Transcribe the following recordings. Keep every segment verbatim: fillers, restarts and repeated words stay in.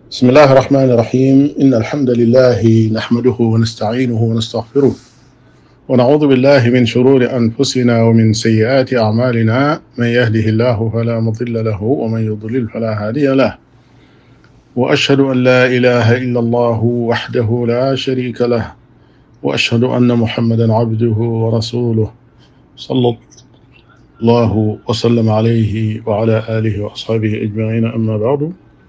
بسم الله الرحمن الرحيم إن الحمد لله نحمده ونستعينه ونستغفره ونعوذ بالله من شرور أنفسنا ومن سيئات أعمالنا من يهده الله فلا مضل له ومن يضلل فلا هادي له وأشهد أن لا إله إلا الله وحده لا شريك له وأشهد أن محمدا عبده ورسوله صلى الله وسلم عليه وعلى آله وأصحابه أجمعين أما بعد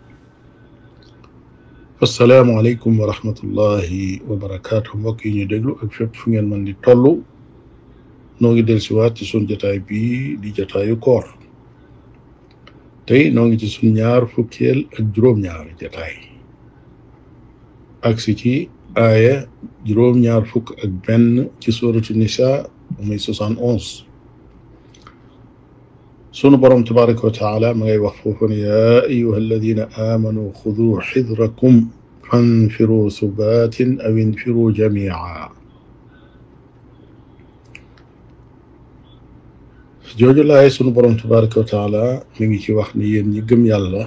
assalaamu aleykum wa rahmatullahi wa barakaatu mbokk yi ñu déglu ak fépp fu ngeen mën di toll noo ngi del siwaat ci sun jataay bii di jataayu koor tey noo ngi ci sun ñaar fukkeel ak juróom-ñaar jataay agsi ci aaya juróom-ñaar fukk ak benn ci suratu nisa muy soixante onze sunu borom tabaraka wa taala ma ngay wax foofu ne yaa ayuha alladina amanu xudu xidrakum fanfiru subatin aw infiru jamia jooju laay sunu borom tabaraka wa taala mi ngi ci wax ni yéen ñi gëm yàlla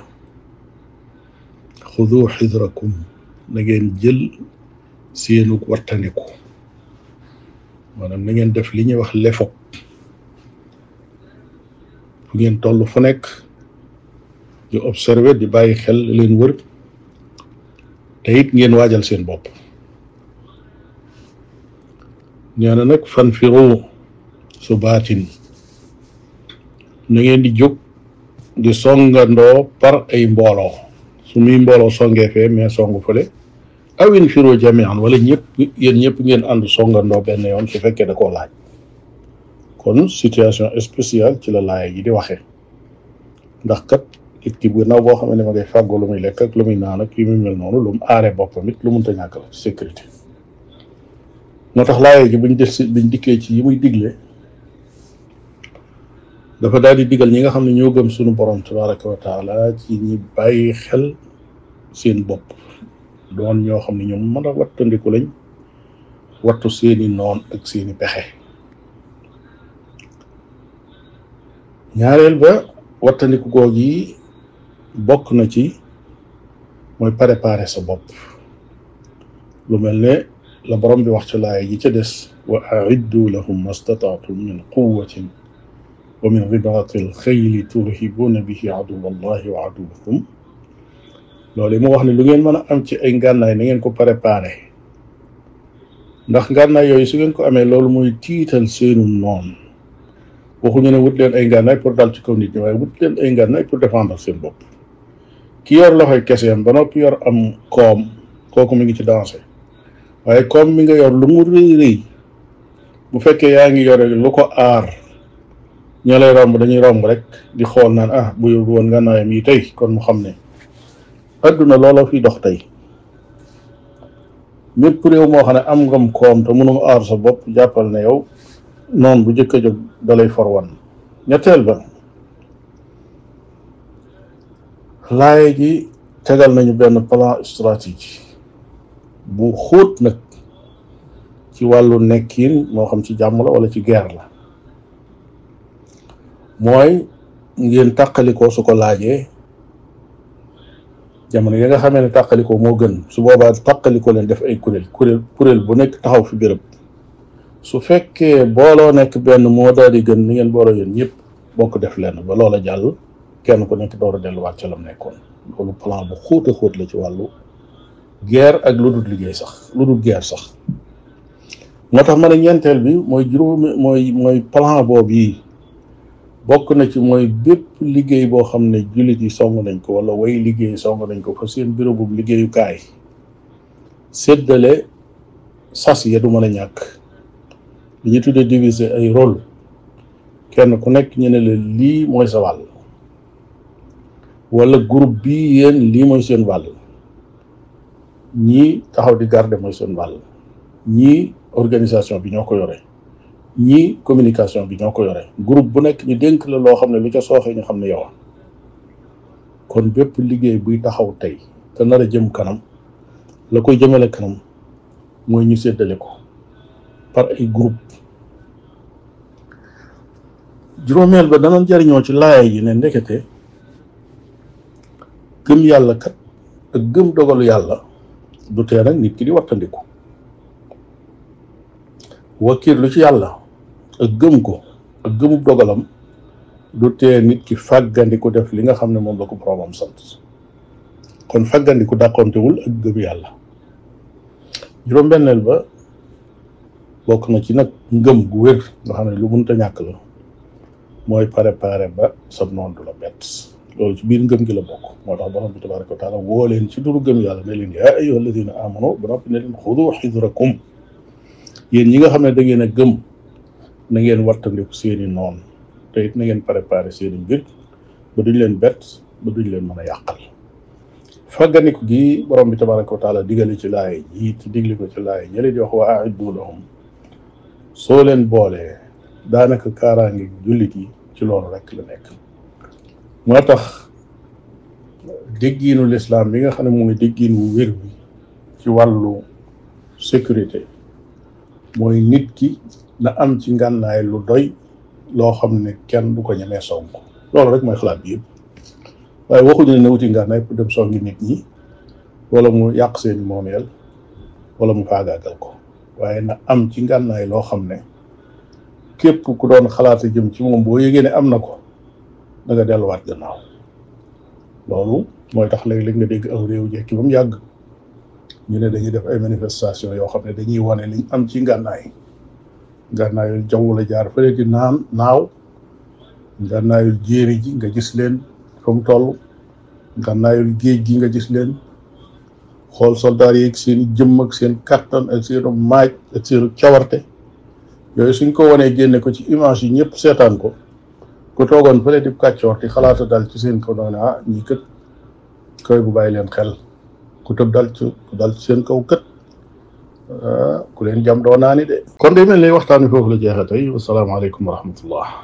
xudu xidrakum na ngeen jël seenug wattandiku maanaam na ngeen def li ñuy wax lefo fu ngeen toll fu nekk di observer di bàyyi xel leen wër te it ngeen waajal seen bopp nee na nag fanfiru subaatin na ngeen di jóg di songandoo par ay mbooloo su muy mbooloo songee fee mais songu fële aw infiru jamian wala ñëpp yéen ñëpp ngeen ànd songandoo benn yoon su fekkee da koo laaj kon situation spéciale ci la laaya ji di waxee ndax kat nit ki bu naw boo xam ne ma ngay fàggoo lu muy lekk ak lu muy naan ak yu muy mel noonu lu mu aaree boppam it lu mënta ñàkk la sécurité moo tax laaya ji buñ def si buñ dikkee ci yi muy digle dafa daal di digal ñi nga xam ne ñoo gëm sunu borom tabaraka wa taala ci ñi bàyyi xel seen bopp doon ñoo xam ne ñoom mën a wattandiku lañ wattu seeni noon ak seeni pexe ñaareel ba wattandiku googu yi bokk na ci mooy préparer sa bopp lu mel ne la borom bi wax ci laaya ji ca des wa aiddu lahum mastataatum min quwatin wa min ribaati alxayli turhibuuna bihi aduwa allahi wa aduwakum loolu mu wax ne lu ngeen mën a am ci ay ngànnaay na ngeen ko préparer ndax ngànnaay yooyu su ngeen ko amee loolu mooy tiital seenu noon waxuñu ne wut leen ay ngànnaay pour dal ci kaw nit ñi waaye wut leen ay ngànnaay pour défendre seen bopp ki yor loxoy keseem ba noppi yor am koom kooku mi ngi ci danger waaye koom mi nga yor lu mu rëy rëy bu fekkee yaa ngi yore lu ko aar ñoo lay romb dañuy romb rek di xool naan ah bu yor woon ngànnaayam yi tey kon mu xam ne adduna looloo fi dox tey mépp réew moo xam ne am ngam koom te mënum aar sa bopp jàppal ne yow noonu bu jëkk a jóg dalay forwan ñetteel ba laay gi tegal nañu benn plan stratégie bu xóot nag ci wàllu nekkin moo xam ci jàmm la wala ci guerre la mooy ngeen tàqalikoo su ko laajee jamono yi nga xamee ne tàqalikoo moo gën su boobaa tàqalikoo leen def ay kuréel kuréel kuréel bu nekk taxaw fi béréb su fekkee booloo nekk benn moo daal di gën ni ngeen booloo yéen ñëpp bokk def lenn ba loola jàll kenn ku nekk door a delluwaat ca lam nekkoon loolu plan bu xóot a xóot la ci wàllu guerre ak lu dul liggéey sax lu dul guerre sax moo tax ma ne ñeenteel bi mooy juróomi mooy mooy plan boobu yi bokk na ci mooy bépp liggéey boo xam ne jullit yi song nañ ko wala way liggéey song nañ ko fa seen bureau bu liggéeyukaay séddale sas ya du mën a ñàkk li ñu tuddee diviser ay rôle kenn ku nekk ñu ne la lii mooy sa wàll wala groupe bii yéen lii mooy seen wàll ñii taxaw di garder mooy seen wàll ñii organisation bi ñoo ko yore ñii communication bi ñoo ko yore groupe bu nekk ñu dénk la loo xam ne lu ca sooxee ñu xam ne yow kon bépp liggéey buy taxaw tey te nar a jëm kanam la koy jëmale kanam mooy ñu séddale ko par ay groupe juróomeel ba dana jariñoo ci laaya yi ne ndekete gëm yàlla kat ak gëm dogalu yàlla du tee nag nit ki di wattandiku wakiirlu ci yàlla ak gëm ko ak gëmub dogalam du tee nit ki fàggandiku def li nga xam ne moom la ko boromam sant kon fàggandiku dàqontewul ak gëm yàlla. juróom-benneel ba bokk na ci nag ngëm gu wér nga xam ne lu mënta ñàkk la mooy préparé ba sa noon du la bett loolu ci biir ngëm gi la bokk. moo tax borom bi tabaraka wa taala woo leen ci duru gëm yàlla ne leen yaa ayyuha alladina amanu ba noppi ne leen xudu xidrakum yéen ñi nga xam ne da ngeen a gëm na ngeen wattandiku seeni noon te it na ngeen préparé seeni mbir ba duñ leen bett ba duñ leen mën a yàqal. fàgganiku gi borom bi tabaraka wa taala digale ci laay ji te digli ko ci laay ñële di wax wa aiddu lahum soo leen boolee daanaka kaaraange jullit yi ci loolu rek la nekk. moo tax déggiinu lislaam bi nga xam ne mooy déggiin wu wér bi ci wàllu sécurité mooy nit ki na am ci ngànnaay lu doy loo xam ne kenn du ko ñemee song loolu rek mooy xalaat bi yëpp. waaye waxuñu ne na wuti ngànnaay pour dem songi nit ñi wala mu yàq seeni moomeel wala mu faagaagal ko waaye na am ci ngànnaay loo xam ne képp ku doon xalaata jëm ci moom boo yëgee ne am na ko da nga delluwaat gannaaw. loolu mooy tax léeg-léeg nga dégg aw réew jekki ba mu yàgg ñu ne dañuy def ay manifestation yoo xam ne dañuy wane liñ am ci ngànnaay ngànnaayul jaww la jaar fële di naan naaw ngànnaayul jéeri ji nga gis leen fa mu toll ngànnaayul géej gi nga gis leen xool soldaar yi ak seen jëmm ak seen kattan ak seen maaj ak seen cawarte yooyu suñ ko wanee génne ko ci image yi ñëpp seetaan ko ku toogoon fële di kàccoor ti xalaata dal ci seen kaw doone ah ñii kët koy bu bàyyi leen xel ku tëb dal ci ku dal ci seen kaw kët ku leen jam doo naa ni de. kon de mel ni waxtaan wi foofu la jeexee tey wasalaamaaleykum wa rahmatullah.